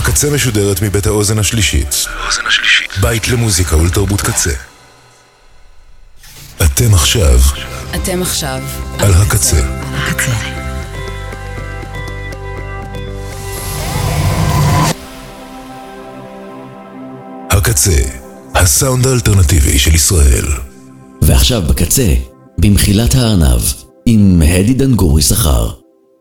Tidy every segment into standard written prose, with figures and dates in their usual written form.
הקצה משודרת מבית האוזן השלישית. בית למוזיקה ולתרבות קצה. אתם עכשיו על הקצה. הקצה, הסאונד האלטרנטיבי של ישראל. ועכשיו בקצה, במחילת הארנב, עם הדי דנגורי שכר.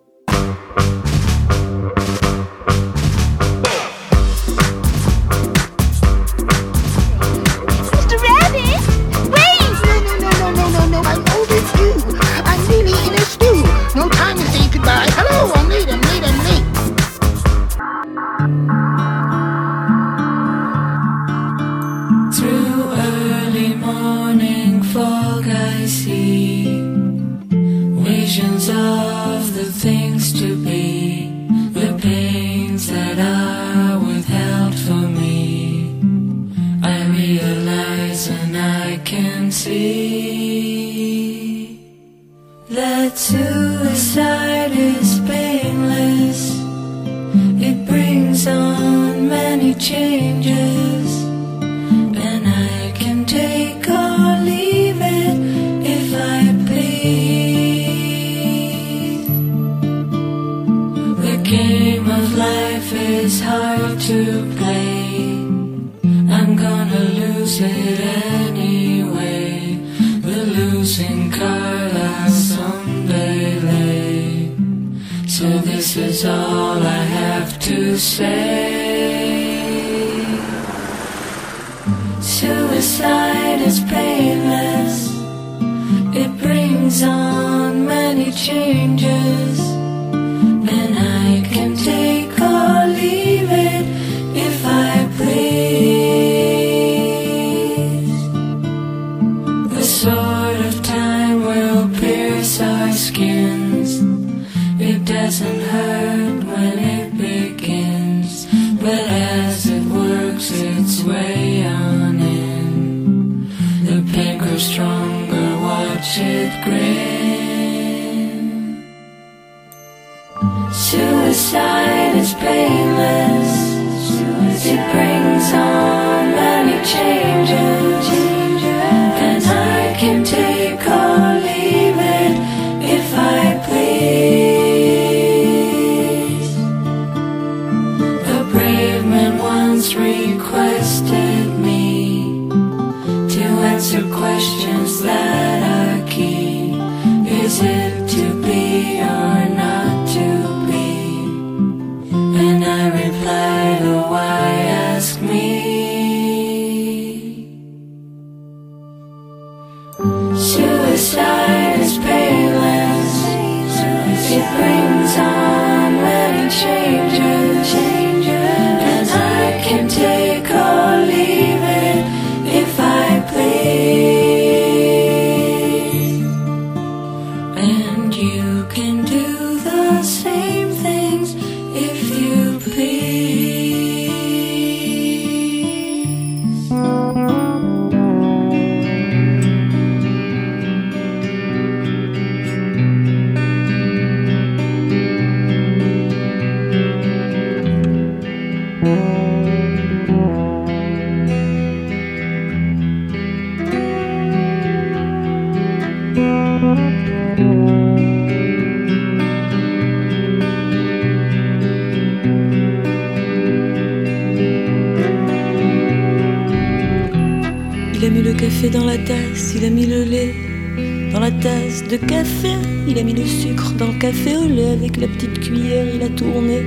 Dans la tasse, il a mis le lait dans la tasse de café, il a mis le sucre dans le café au lait, avec la petite cuillère il a tourné.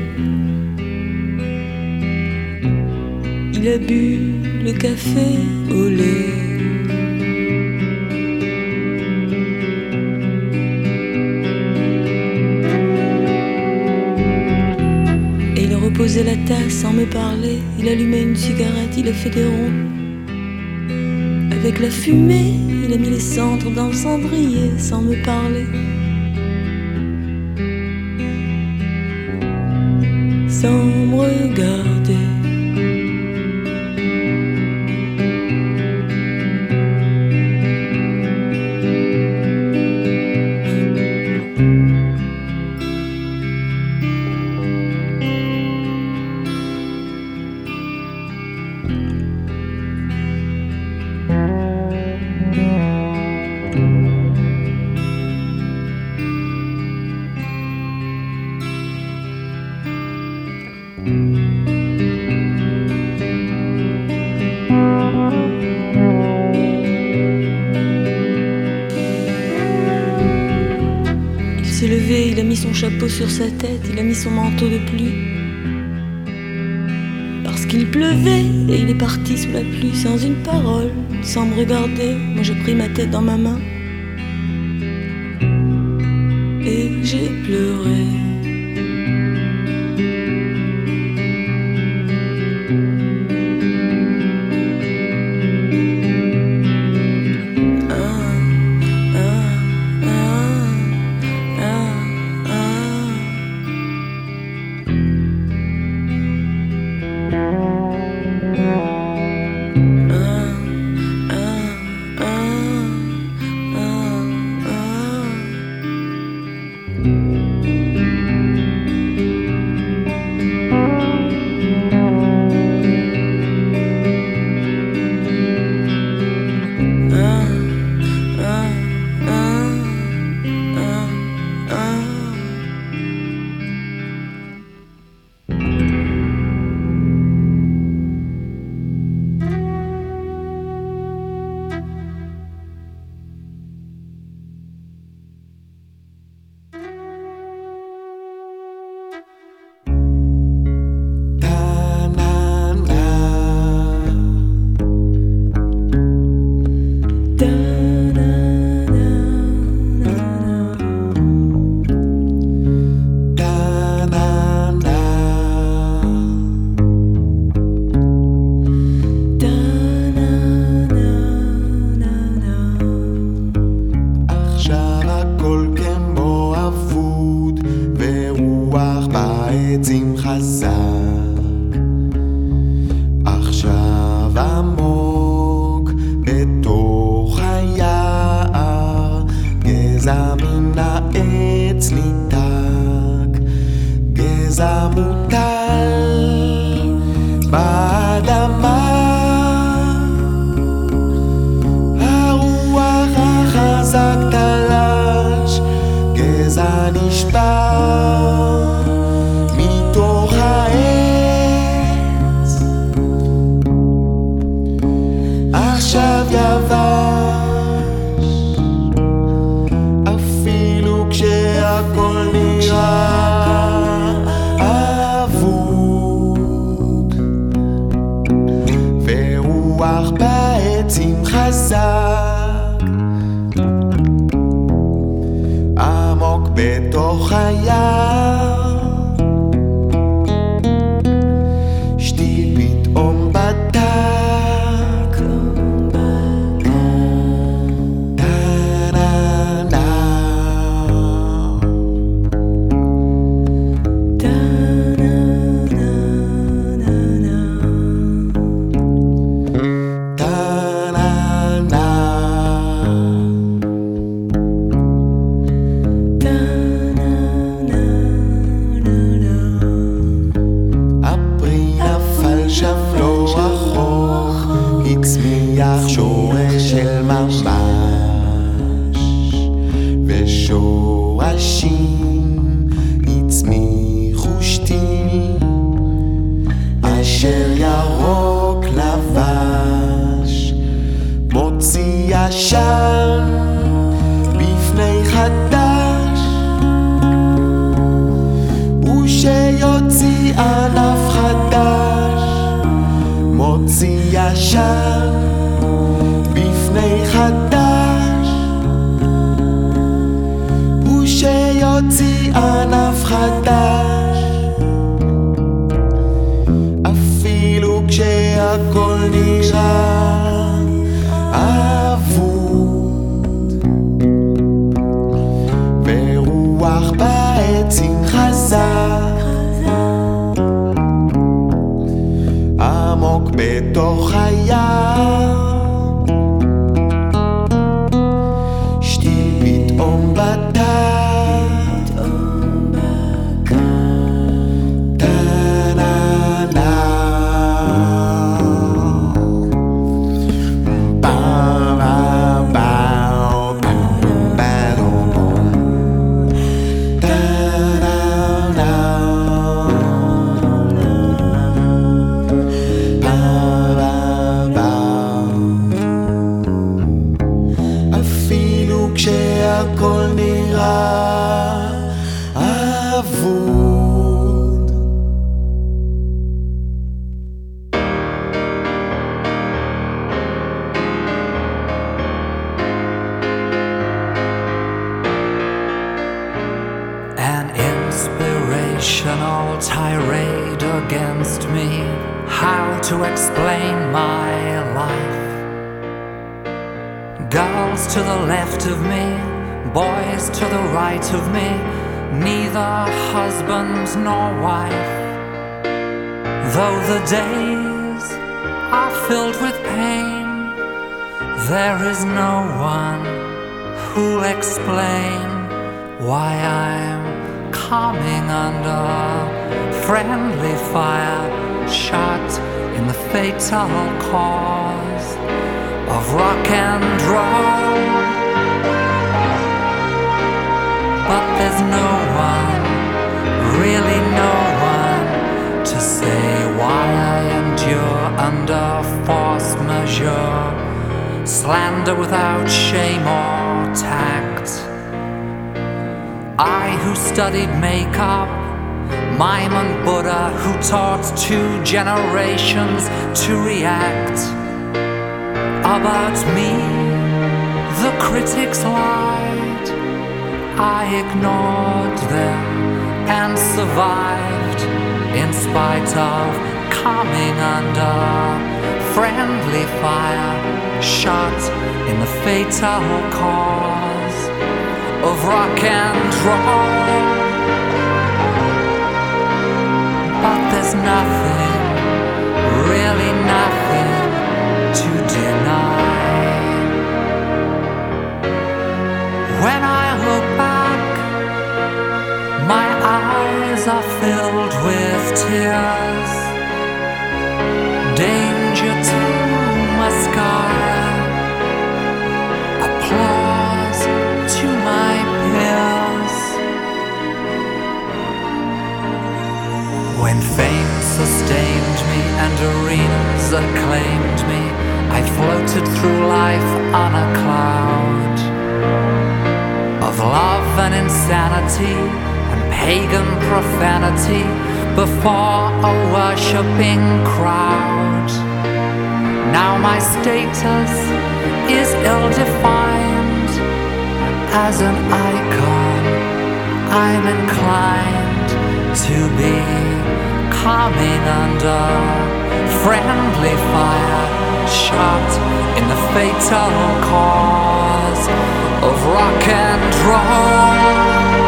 Il a bu le café au lait. Et il reposait la tasse sans me parler, il allumait une cigarette, il a fait des ronds. Avec la fumée, il a mis les cendres dans le cendrier sans me parler. Sans me regarder. Il s'est levé, il a mis son chapeau sur sa tête, il a mis son manteau de pluie. Parce qu'il pleuvait et il est parti sous la pluie sans une parole, sans me regarder. Moi j'ai pris ma tête dans ma main et j'ai pleuré. against me, how to explain my life. Girls to the left of me, boys to the right of me, neither husband nor wife. Though the days are filled with pain, there is no one who'll explain why I'm coming under friendly fire, shot in the fatal cause of rock and roll. But there's no one, really no one, to say why I endure under force majeure, slander without shame or tact. I who studied makeup, mime and Buddha, who taught 2 generations to react. About me, the critics lied. I ignored them and survived in spite of coming under friendly fire, shot in the fatal cause of rock and roll. But there's nothing, really nothing to deny. When I look back, my eyes are filled with tears. Danger to mascara, applause to my peers. When fame sustained me and arenas acclaimed me, I floated through life on a cloud of love and insanity and pagan profanity before a worshipping crowd. Now my status is ill-defined. As an icon, I'm inclined to be coming under friendly fire, shot in the fatal cause of rock and roll.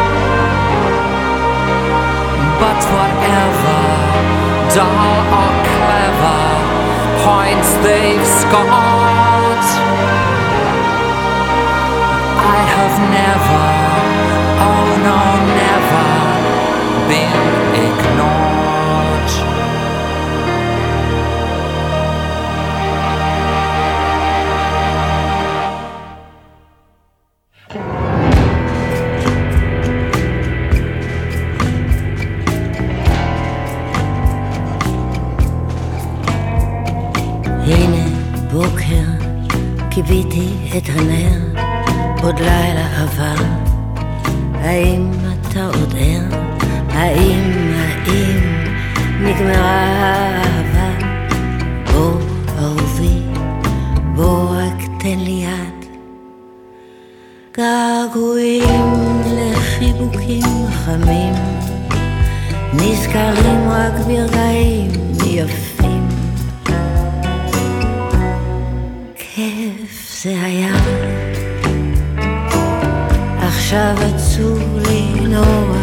But whatever, dull or clever, points they've scored, I have never, oh no, never been ignored. הנה בוקר, קיוויתי את הנר, עוד לילה עבר. האם אתה עוד ער? האם נגמרה האהבה? בוא אהובי, בוא רק תן לי יד. געגועים לחיבוקים חמים, נזכרים רק ברגעים יפים. כיף זה היה, עכשיו עצוב לי נורא.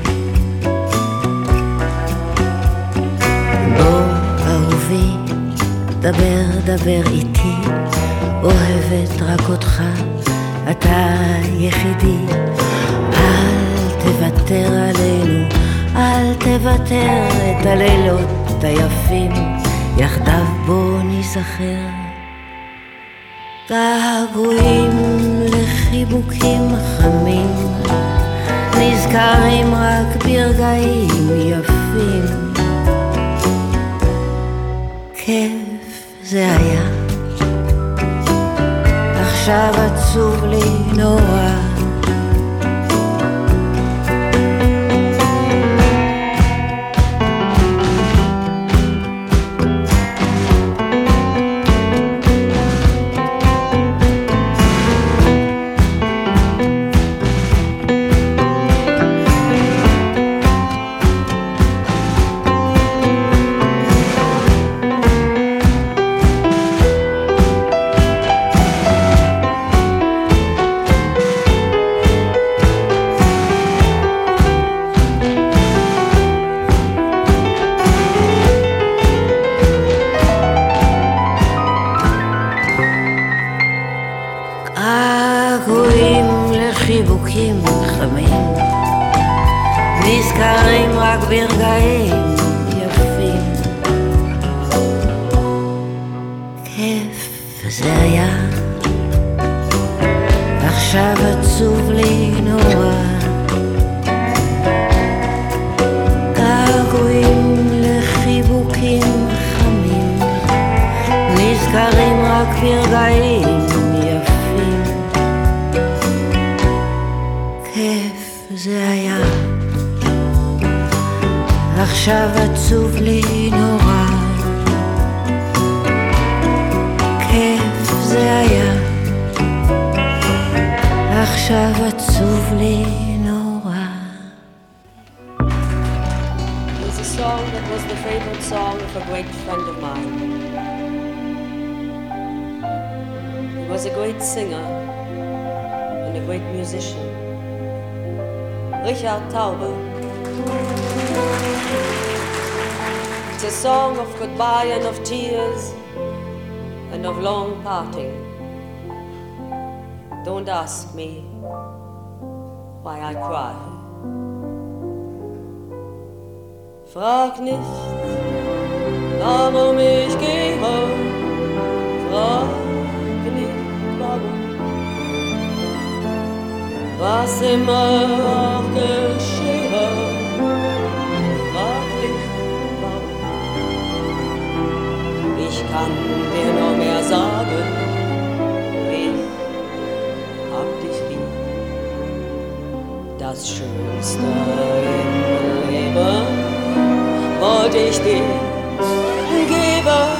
בוא אהובי, דבר איתי, אוהבת רק אותך, אתה יחידי. אל תוותר עלינו, אל תוותר, את הלילות היפים יחדיו בוא ניזכר. געגועים לחיבוקים חמים, נזכרים רק ברגעים יפים. כיף זה היה, עכשיו עצוב לי נורא. עכשיו עצוב לי נורא, געגועים לחיבוקים חמים, נזכרים רק ברגעים יפים. כיף זה היה, עכשיו עצוב לי נורא, כיף זה היה, עכשיו עצוב לי נורא. There's a song that was the favorite song of a great friend of mine. He was a great singer and a great musician. Richard Taube. It's a song of goodbye and of tears and of long parting. Don't ask me why I cry. Frag nicht, warum ich gehe. Frag nicht, warum. Was immer auch geschehe. Frag nicht, warum. Ich kann dir nur mehr sagen, das Schönste im Leben wollte ich dir geben.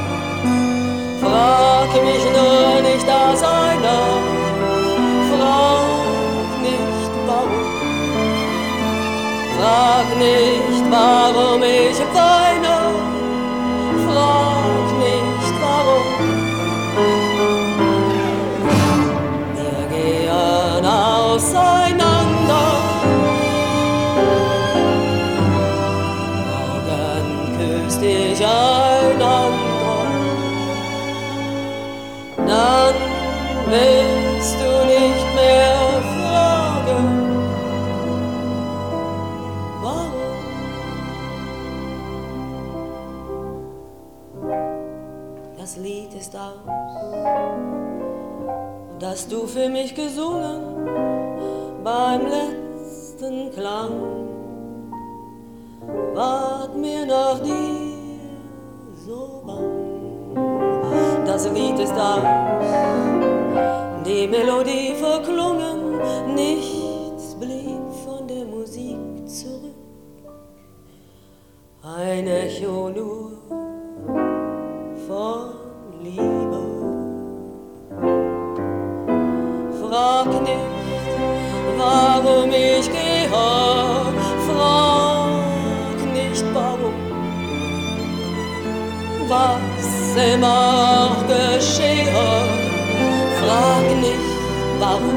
Frag mich nur nicht aus einer, frag nicht warum. Frag nicht, warum ich weine, frag nicht warum. Wir gehen auseinander. Morgen küsst dich ein anderer. Dann willst du nicht mehr fragen, warum. Das Lied ist aus, das du für mich gesungen beim letzten Klang. Ward mir nach dir so bang. Das Lied ist aus, die Melodie verklungen, nichts blieb von der Musik zurück. Ein Echo nur von Liebe. Frag nicht, warum ich gehe, frag nicht warum, was immer auch geschehe, frag nicht warum.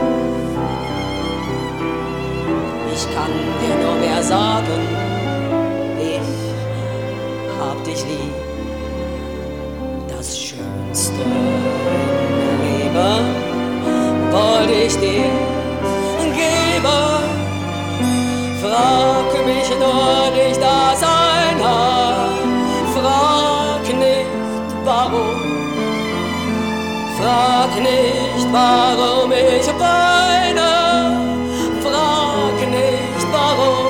Ich kann dir nur mehr sagen, ich hab dich lieb, das Schönste im Leben wollte ich dir geben. Frag mich nur nicht aus einer, frag nicht warum. Frag nicht, warum ich weine, frag nicht warum.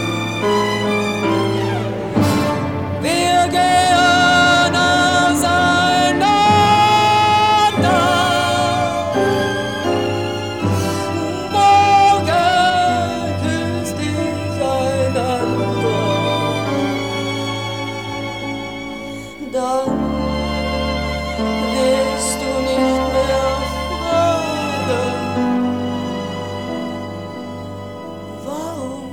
Wir gehen auseinander. Dann wirst du nicht mehr fragen, warum.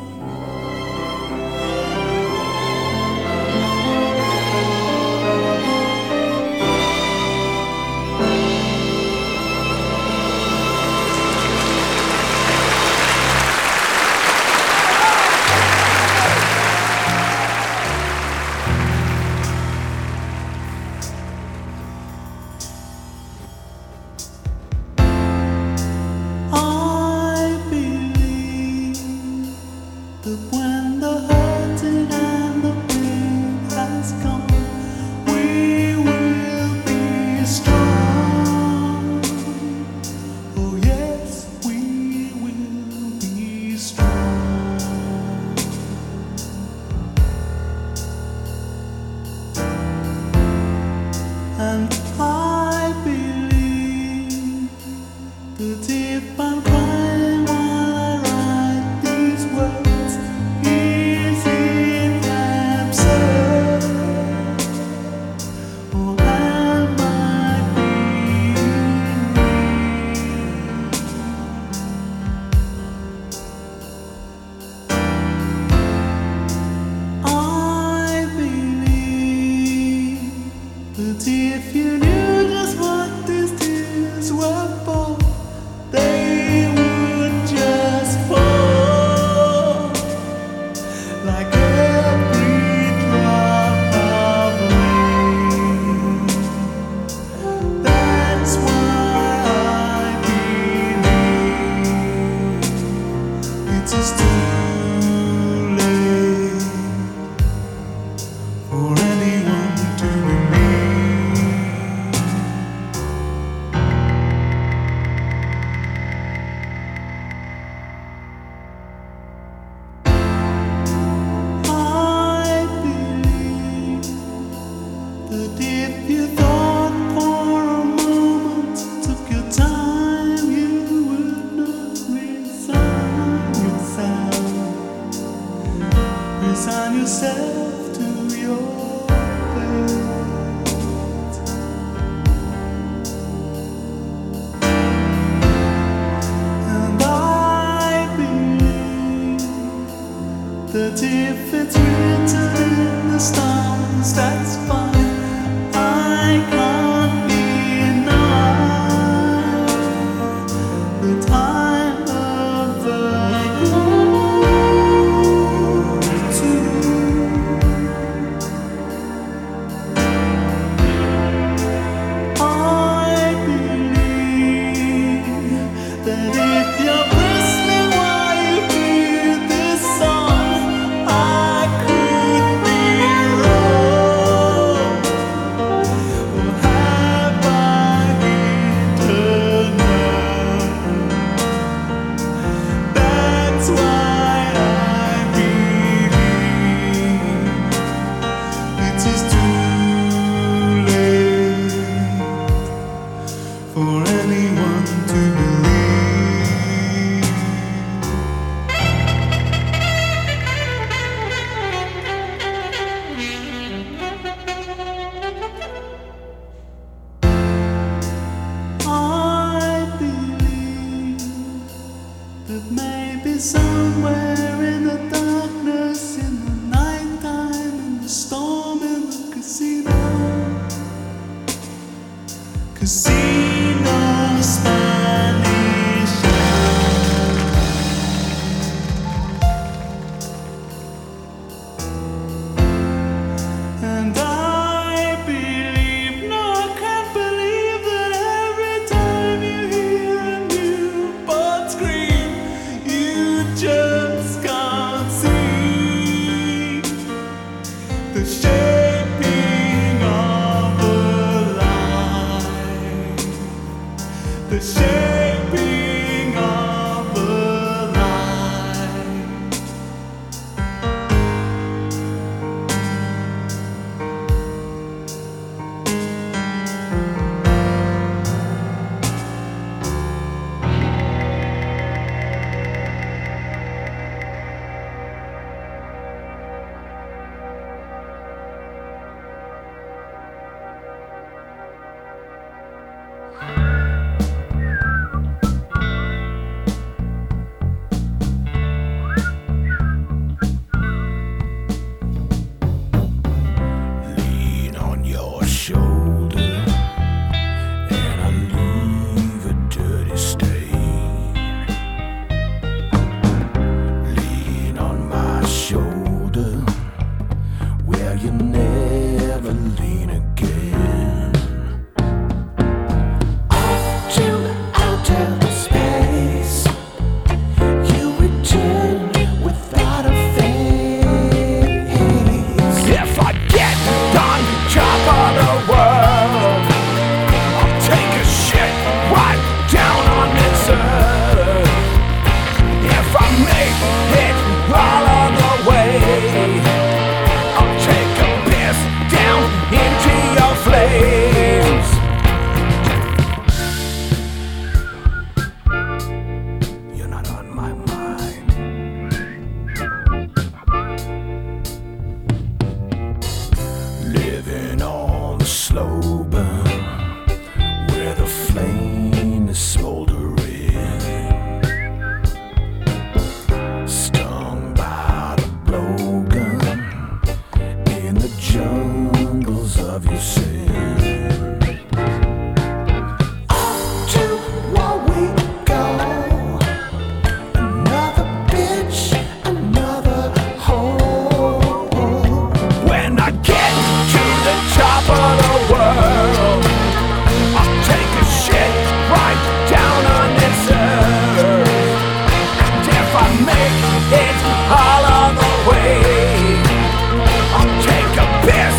All on the way, I'll take a piss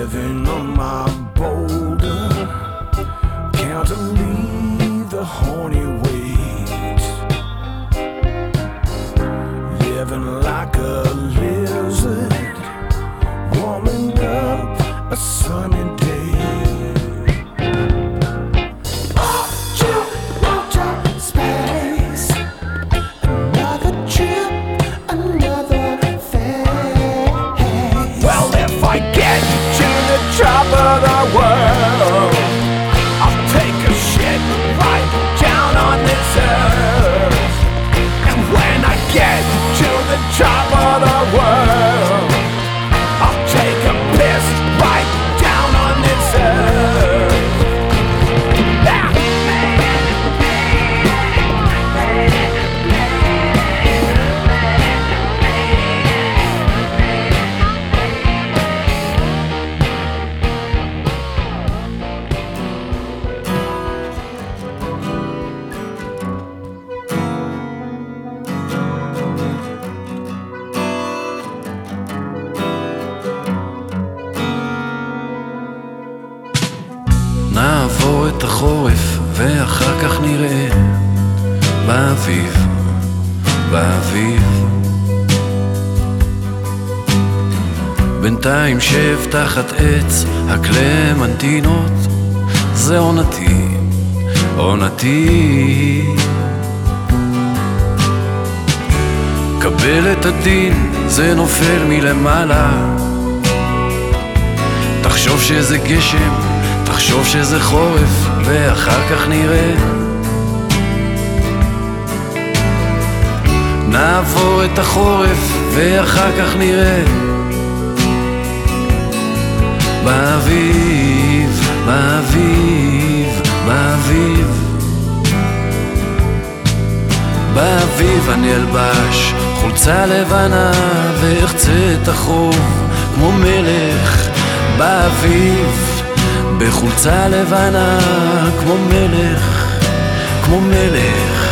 living on my boulder, can't leave the horny waves, living like a lizard, warming up a sunny day. Off to outer space, another trip, another phase. Well, if I get to the top of the world, I'll take a shit right down on this earth. And when I get to the top of the world, I'll take a piss right down on this earth. נעבור את החורף ואחר כך נראה באביב, באביב. בינתיים שב תחת עץ הקלמנטינות, זה עונתי, עונתי. קבל את הדין, זה נופל מלמעלה. תחשוב שזה גשם, תחשוב שזה חורף, ואחר כך נראה. נעבור את החורף, ואחר כך נראה. באביב, באביב, באביב. באביב אני אלבש חולצה לבנה, ואחצה את החוב כמו מלך. באביב בחולצה לבנה כמו מלך, כמו מלך.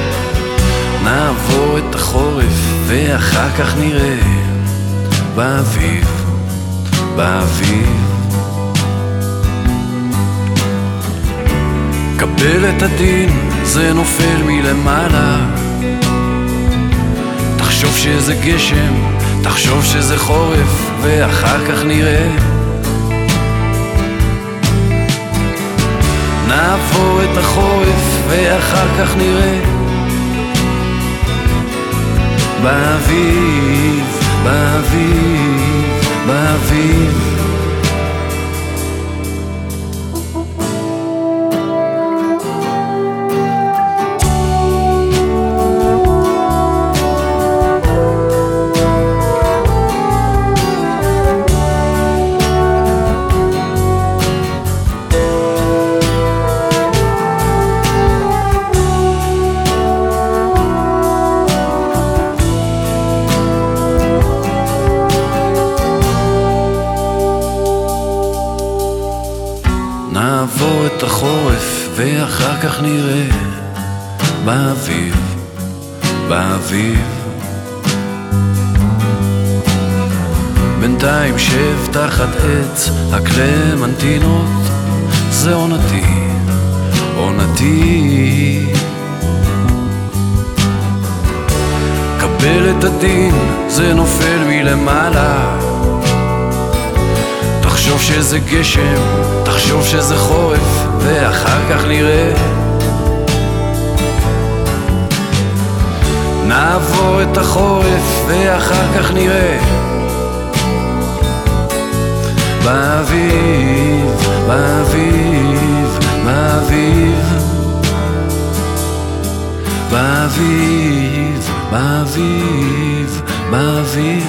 נעבור את החורף ואחר כך נראה. באביב, באביב. קבל את הדין, זה נופל מלמעלה. תחשוב שזה גשם, תחשוב שזה חורף, ואחר כך נראה. נעבור את החורף ואחר כך נראה. באביב, באביב, באביב. נעבור את החורף ואחר כך נראה. באביב, באביב. בינתיים שב תחת עץ הקלמנטינות, זה עונתי, עונתי. קבל את הדין, זה נופל מלמעלה. תחשוב שזה גשם, תחשוב שזה חורף, ואחר כך נראה. נעבור את החורף ואחר כך נראה. באביב, באביב, באביב. באביב, באביב, באביב.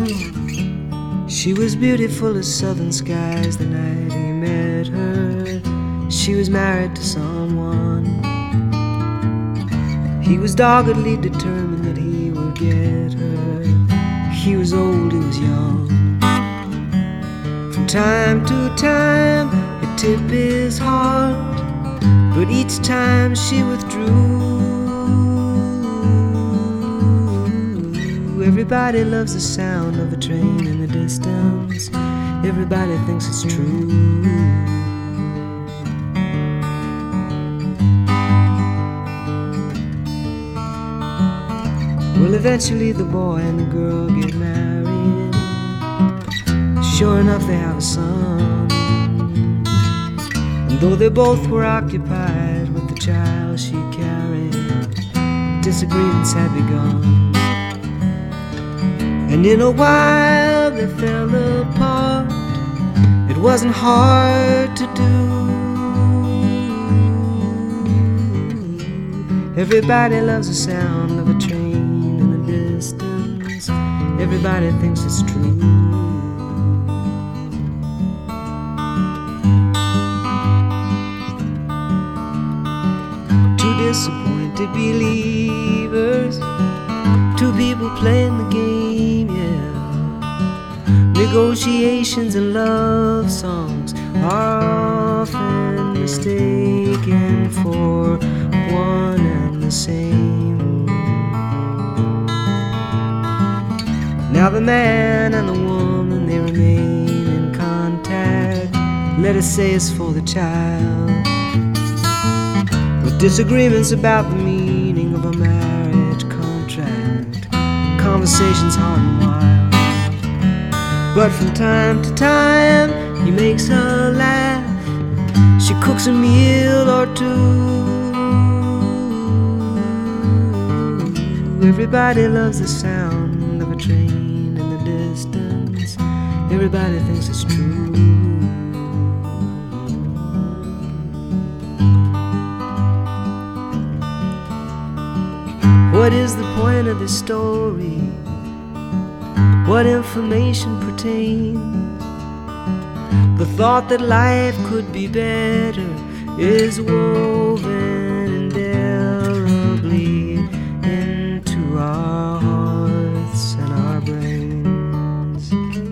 She was beautiful as southern skies the night he met her. She was married to someone. He was doggedly determined that he would get her. He was old, he was young. From time to time he'd tip his heart, but each time she withdrew. Everybody loves the sound of a train in the distance. Everybody thinks it's true. Well, eventually the boy and the girl get married. Sure enough, they have a son. And though they both were occupied with the child she carried, disagreements had begun. And in a while they fell apart. It wasn't hard to do. Everybody loves the sound of a train in the distance. Everybody thinks it's true. Two disappointed believers, two people playing the game, yeah. Negotiations and love songs are often mistaken for one and the same. Now the man and the woman, they remain in contact. Let us say it's for the child. With disagreements about the meaning of a marriage contract, conversations hard and wild. But from time to time he makes her laugh. She cooks a meal or two. Everybody loves the sound of a train in the distance. Everybody thinks it's true. What is the point of this story? What information pertains? The thought that life could be better is woven indelibly into our hearts and our brains.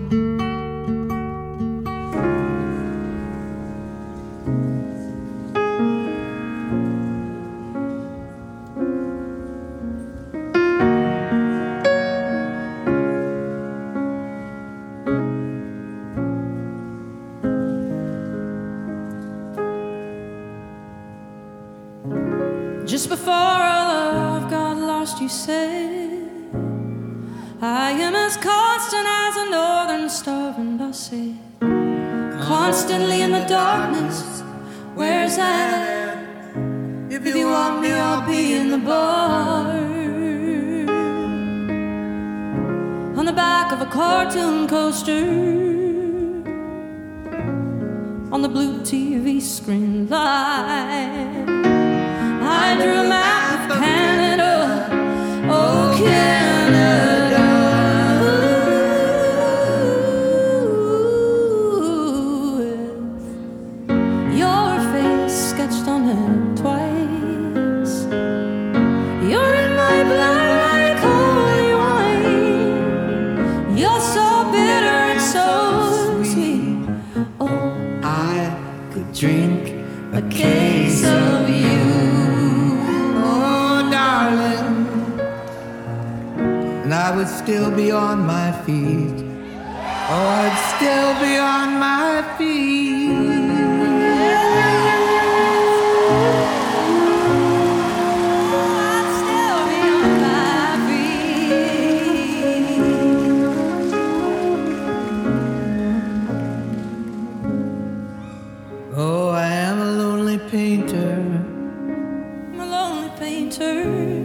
Just before our love got lost, you said, I am as constant as a northern star. And I said, constantly in the darkness, where's that? If you want me, I'll be in the bar. On the back of a cartoon coaster, on the blue TV screen light, I drew a map of Canada, oh Canada. With your face sketched on it twice. You're in my blood like holy wine. You're so bitter and so sweet. Oh, I could drink a case of you. And I would still be on my feet. Oh, I'd still be on my feet. I'd still be on my feet. Oh, I am a lonely painter. I'm a lonely painter.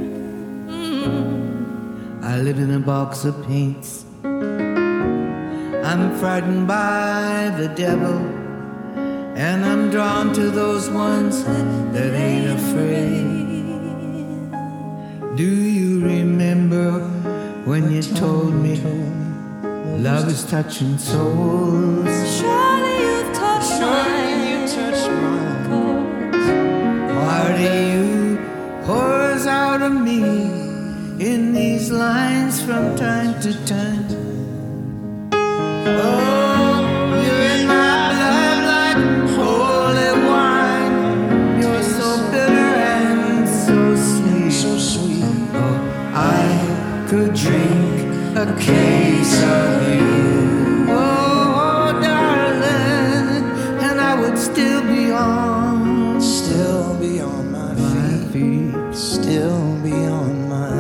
I live in a box of paints. I'm frightened by the devil, and I'm drawn to those ones that ain't afraid. Do you remember when you told me Love is touching souls. Surely you've touched mine. Part of you pours out of me in these lines from time to time. Oh, you're in my blood like holy wine. You're so bitter and so sweet. So sweet. Oh, I could drink a case of you. Oh, darling, and I would still be on my feet. Still be on my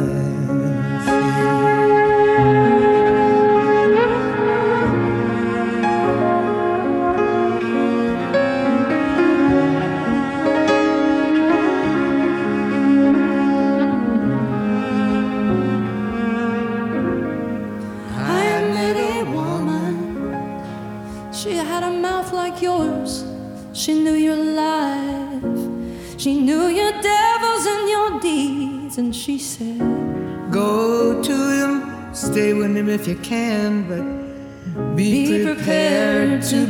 She knew your life, she knew your devils and your deeds, and she said, go to him, stay with him if you can, but be prepared to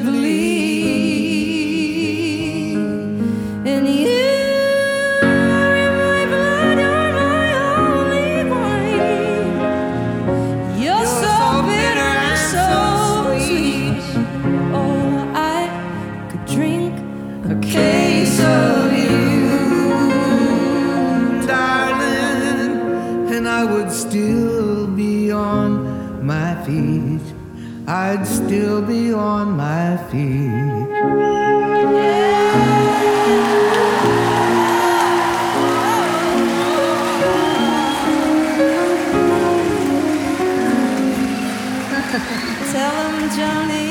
bleed. And you are in my blood, you're my only wine. You're so bitter and so sweet. Oh, I could drink a case of you, darling, and I would still be on my feet. I'd still be on my feet. Tell him, Johnny,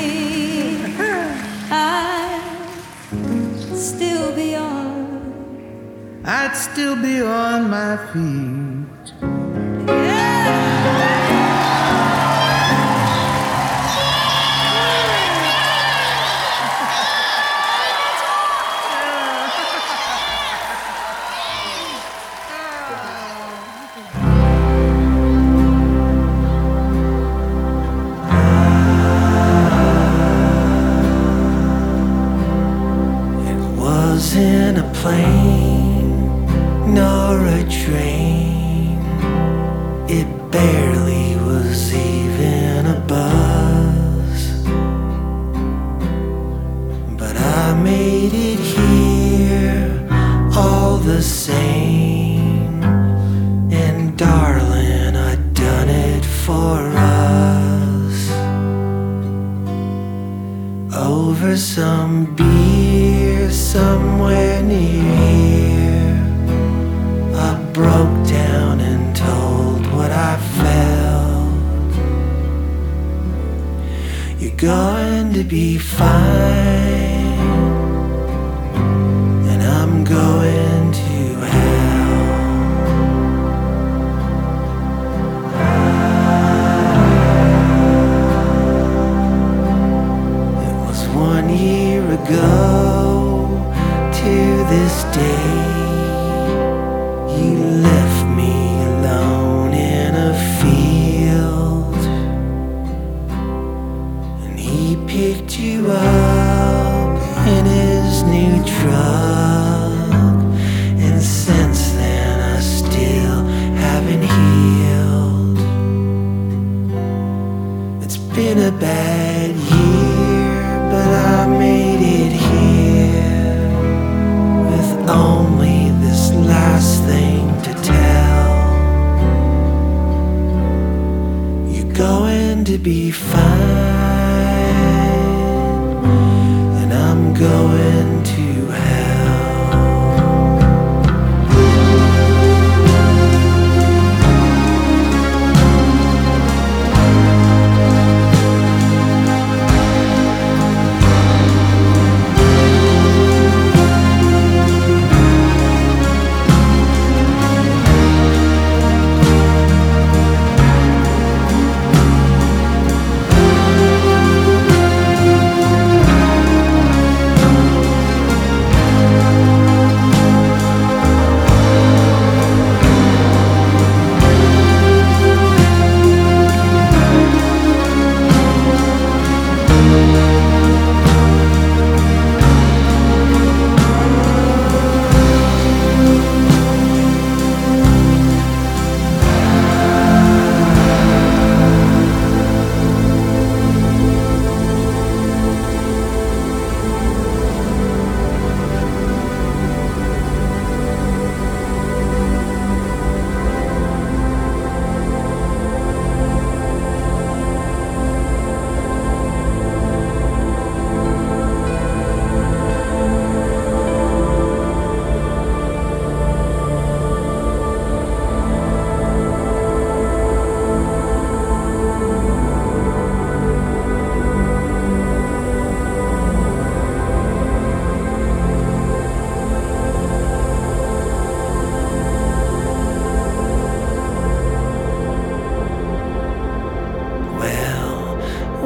I'd still be on my feet. It wasn't a plane nor a train, it barely was even a buzz, but I made it here all the same, and darling, I'd done it for us. Over some beer somewhere near here, I broke down and told what I felt. You're going to be fine, and I'm going to hell. It was 1 year ago to this day. You left me alone in a field, and he picked you up in his new truck, and since then I still haven't healed. It's been a bad year, but I made it here with only this last thing to tell. You're going to be fine, and I'm going to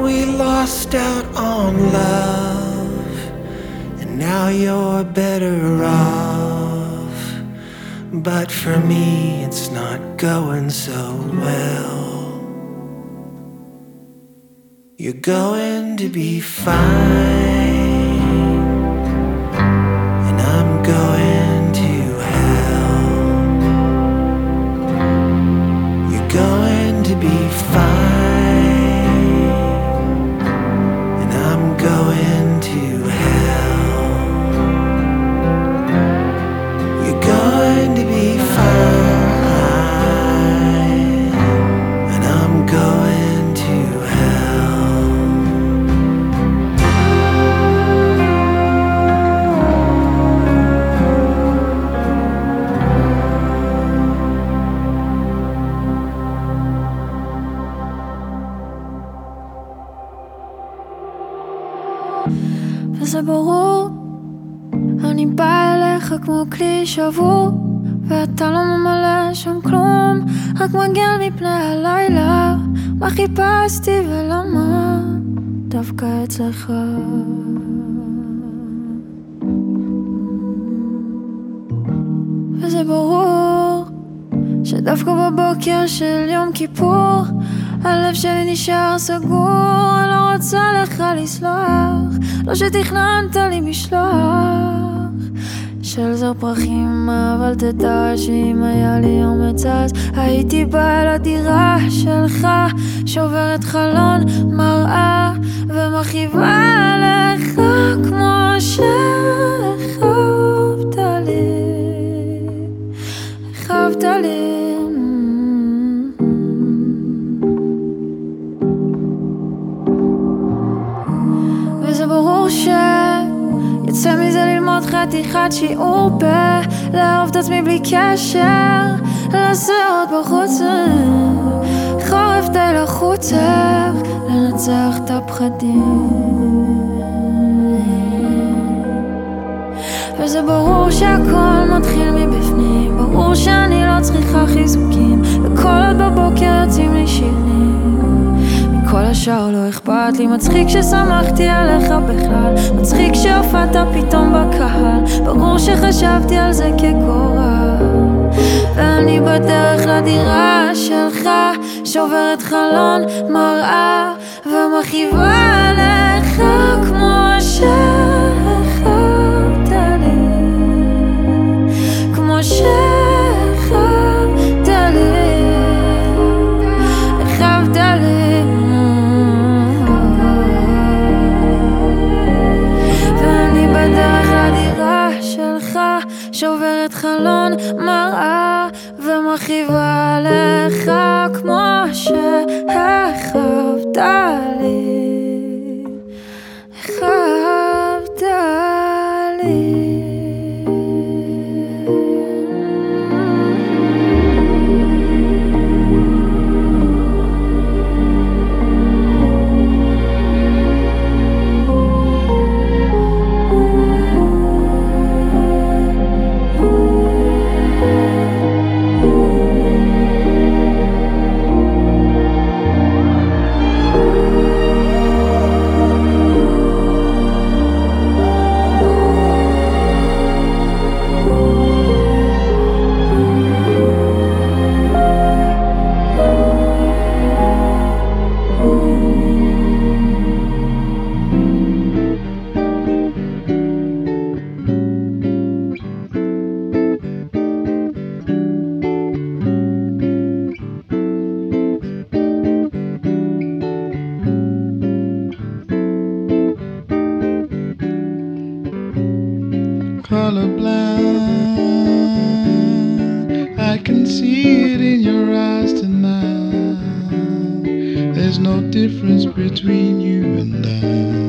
we lost out on love, and now you're better off. But for me, it's not going so well. You're going to be fine, and I'm going to hell. You're going to be fine, and I'm going to hell. You're going to be fine, and I'm going to hell. וזה ברור, אני באה אליך כמו כלי שבור, ואתה לא ממלא שם כלום, רק מגן מפני הלילה. מה חיפשתי ולמה דווקא אצלך? וזה ברור שדווקא בבוקר של יום כיפור הלב שלי נשאר סגור. אני לא רוצה לך לסלוח, לא שתכננת לי משלוח של זר פרחים, אבל תדע שאם היה לי אומץ אז הייתי באה לדירה שלך, שוברת חלון מראה ומכאיבה לך כמו שחבת לי, חבת לי. וזה ברור שיצא מזה ללמוד חתיכת שיעור לאהוב את עצמי בלי קשר, לעשות בחוץ חורף די לחוץ, לנצח את הפחדים. וזה ברור שהכל מתחיל מבפנים, ברור שאני לא צריכה חיזוקים, וכל עוד בבוקר יוצאים לי שירים, מכל השאר לא אכפת לי. מצחיק ששמחתי עליך בכלל, מצחיק שהופעת פתאום בקהל, ברור שחשבתי על זה כגורל. ואני בדרך לדירה שלך, שוברת חלון מראה ומכאיבה לך כמו שחבת לי, כמו שחבת לי, חבת לי. ואני בדרך לדירה שלך, שוברת חלון מראה ומכאיבה לך כמו שחבת לי, חבת לי. Colorblind, I can see it in your eyes tonight. There's no difference between you and I.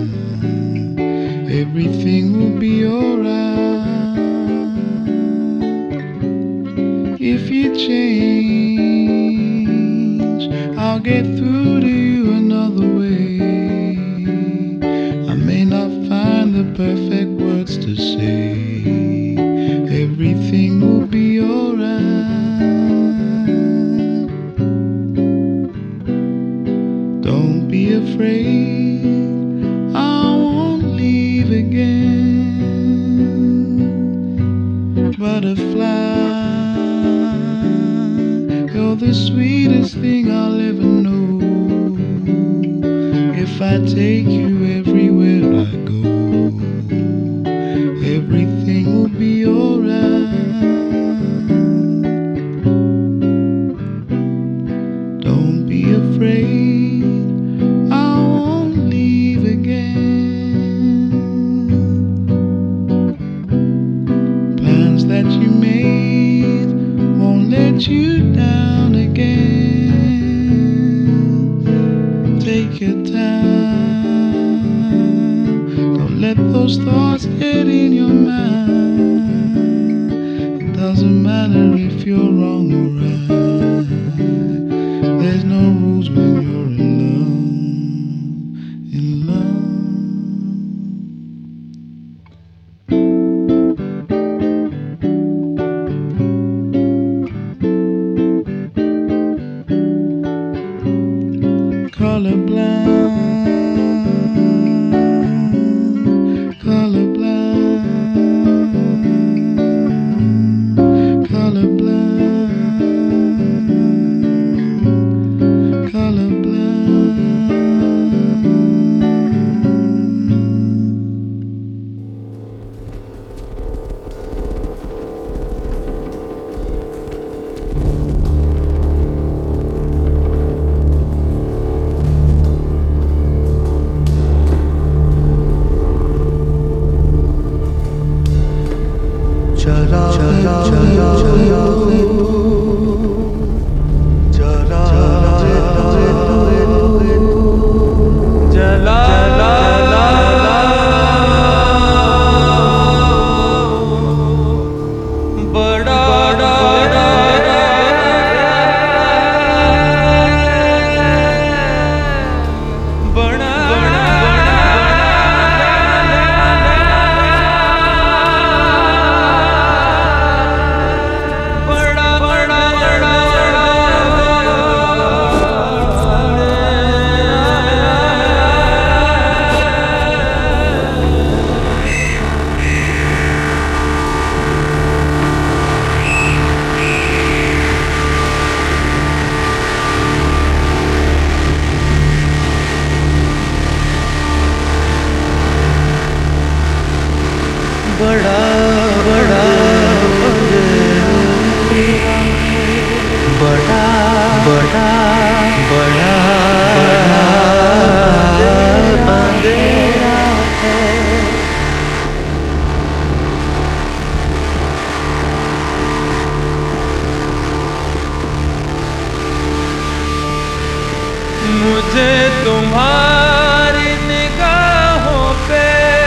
Everything will be alright. If you change, I'll get through to you another way. I may not find the perfect words to say. Everything will be alright. Don't be afraid, I won't leave again. Butterfly, you're the sweetest thing I'll ever know. If I take you everywhere I go, everything will be alright. Don't be afraid, I won't leave again. Plans that you made won't let you down again. Take your time, don't let those thoughts get in your mind. It doesn't matter if you're wrong or right. There's no rules when you're in love, in love. Colorblind, colorblind, colorblind, मुझे तुम्हारी निगाहों पे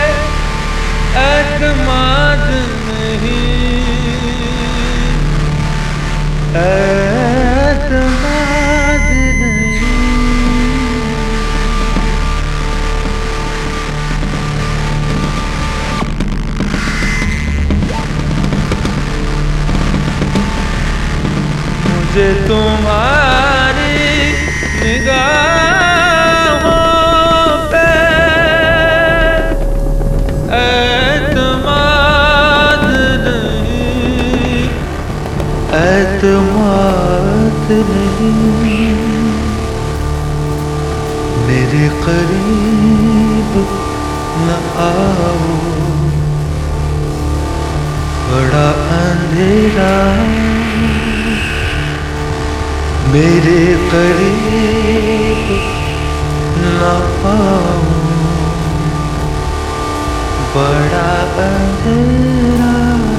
एतमाद नहीं, एतमाद नहीं। मुझे तुम्हारी निगाहों पे एतमाद नहीं, एतमाद नहीं। मेरे करीब न आओ, बड़ा अंधेरा मेरे करीब न आओ, बड़ा अंधेरा।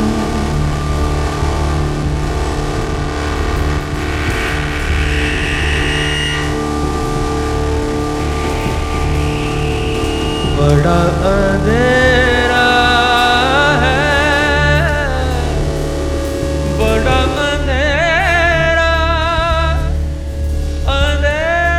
बड़ा अंधेरा है, बड़ा अंधेरा, अंधेरा।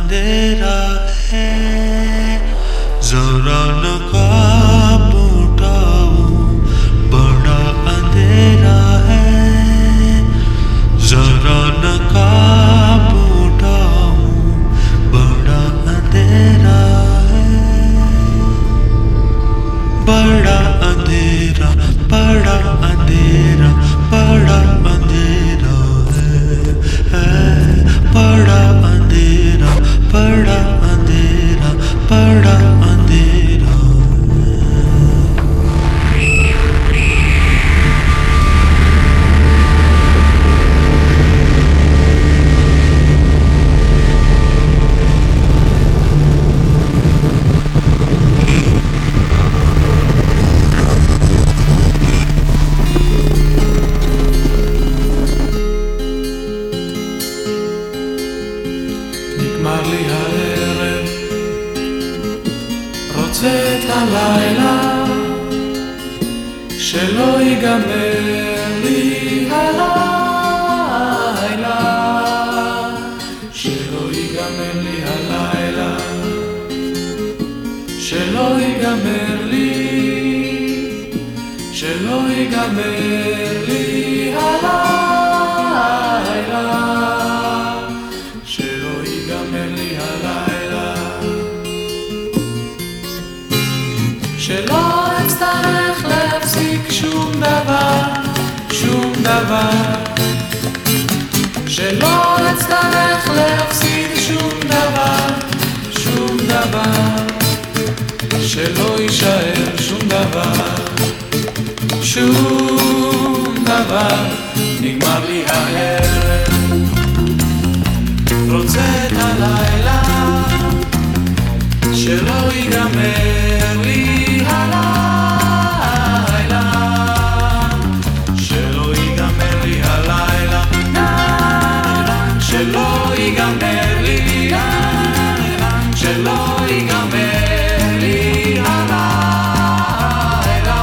अंधेरा है जरा नकाब उठाओ बड़ा अंधेरा है जरा नकाब उठाओ बड़ा अंधेरा है बड़ा अंधेरा बड़ा अंधेरा बड़ा अंधेरा है बड़ा अंधेरा बड़ा अंधेरा बड़ा अंधेरा נגמר לי הערב, רוצה את הלילה, שלא ייגמר לי הלילה, שלא ייגמר לי הלילה, שלא ייגמר לי, שלא ייגמר לי הלילה, שלא ייגמר לי הלילה, שלא אצטרך להפסיק שום דבר, שום דבר, שלא אצטרך להפסיק שום דבר, שום דבר, שלא יישאר שום דבר, שום דבר. נגמר לי הערב, רוצה את הלילה, שלא ייגמר לי הלילה, שלא ייגמר לי הלילה, שלא ייגמר לי, שלא ייגמר לי הלילה,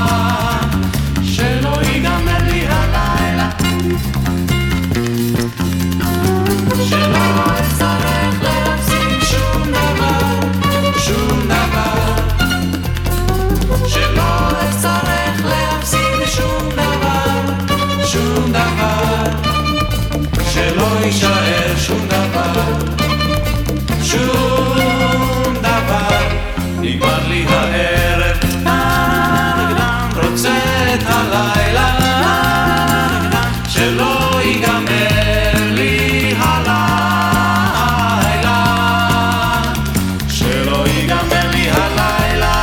שלא ייגמר לי הלילה, שלא אצטרך להפסיק שום דבר, שום דבר, שלא אצטרך להפסיק שום דבר, שום דבר, שלא יישאר שום דבר, שום דבר. נגמר לי הערב, רוצה את הלילה, שלא ייגמר לי הלילה, שלא ייגמר לי הלילה,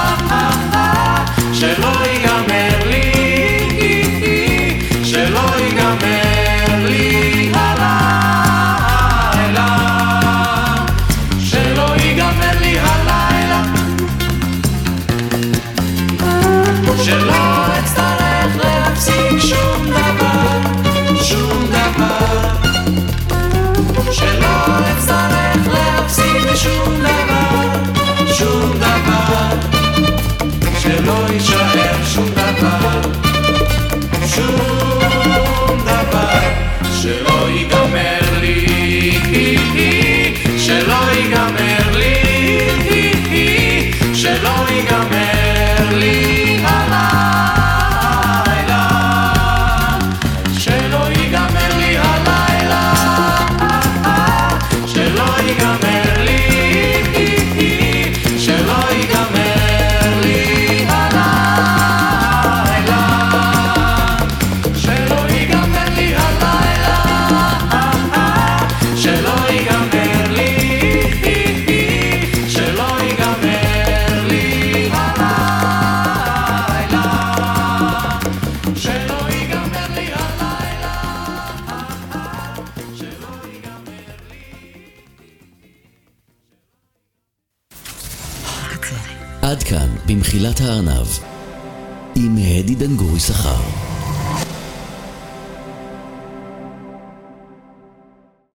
שלא ייגמר לי, שלא ייגמר לי הלילה, שלא ייגמר לי הלילה, שלא אצטרך להפסיק שום דבר, שום דבר, שלא אצטרך להפסיק שום דבר, שום דבר, שלא יישאר שום דבר, שום דבר, שלא ייגמר לי, שלא ייגמר לי, שלא ייגמר לי הלילה, שלא ייגמר לי הלילה, שלא ייגמר לי, שלא ייגמר לי הלילה, שלא ייגמר לי הלילה, שלא ייגמר לי, שלא ייגמר לי הלילה, שלא ייגמר לי הלילה, שלא ייגמר לי. עד כאן במחילת הארנב עם הדי דנגורי שכר.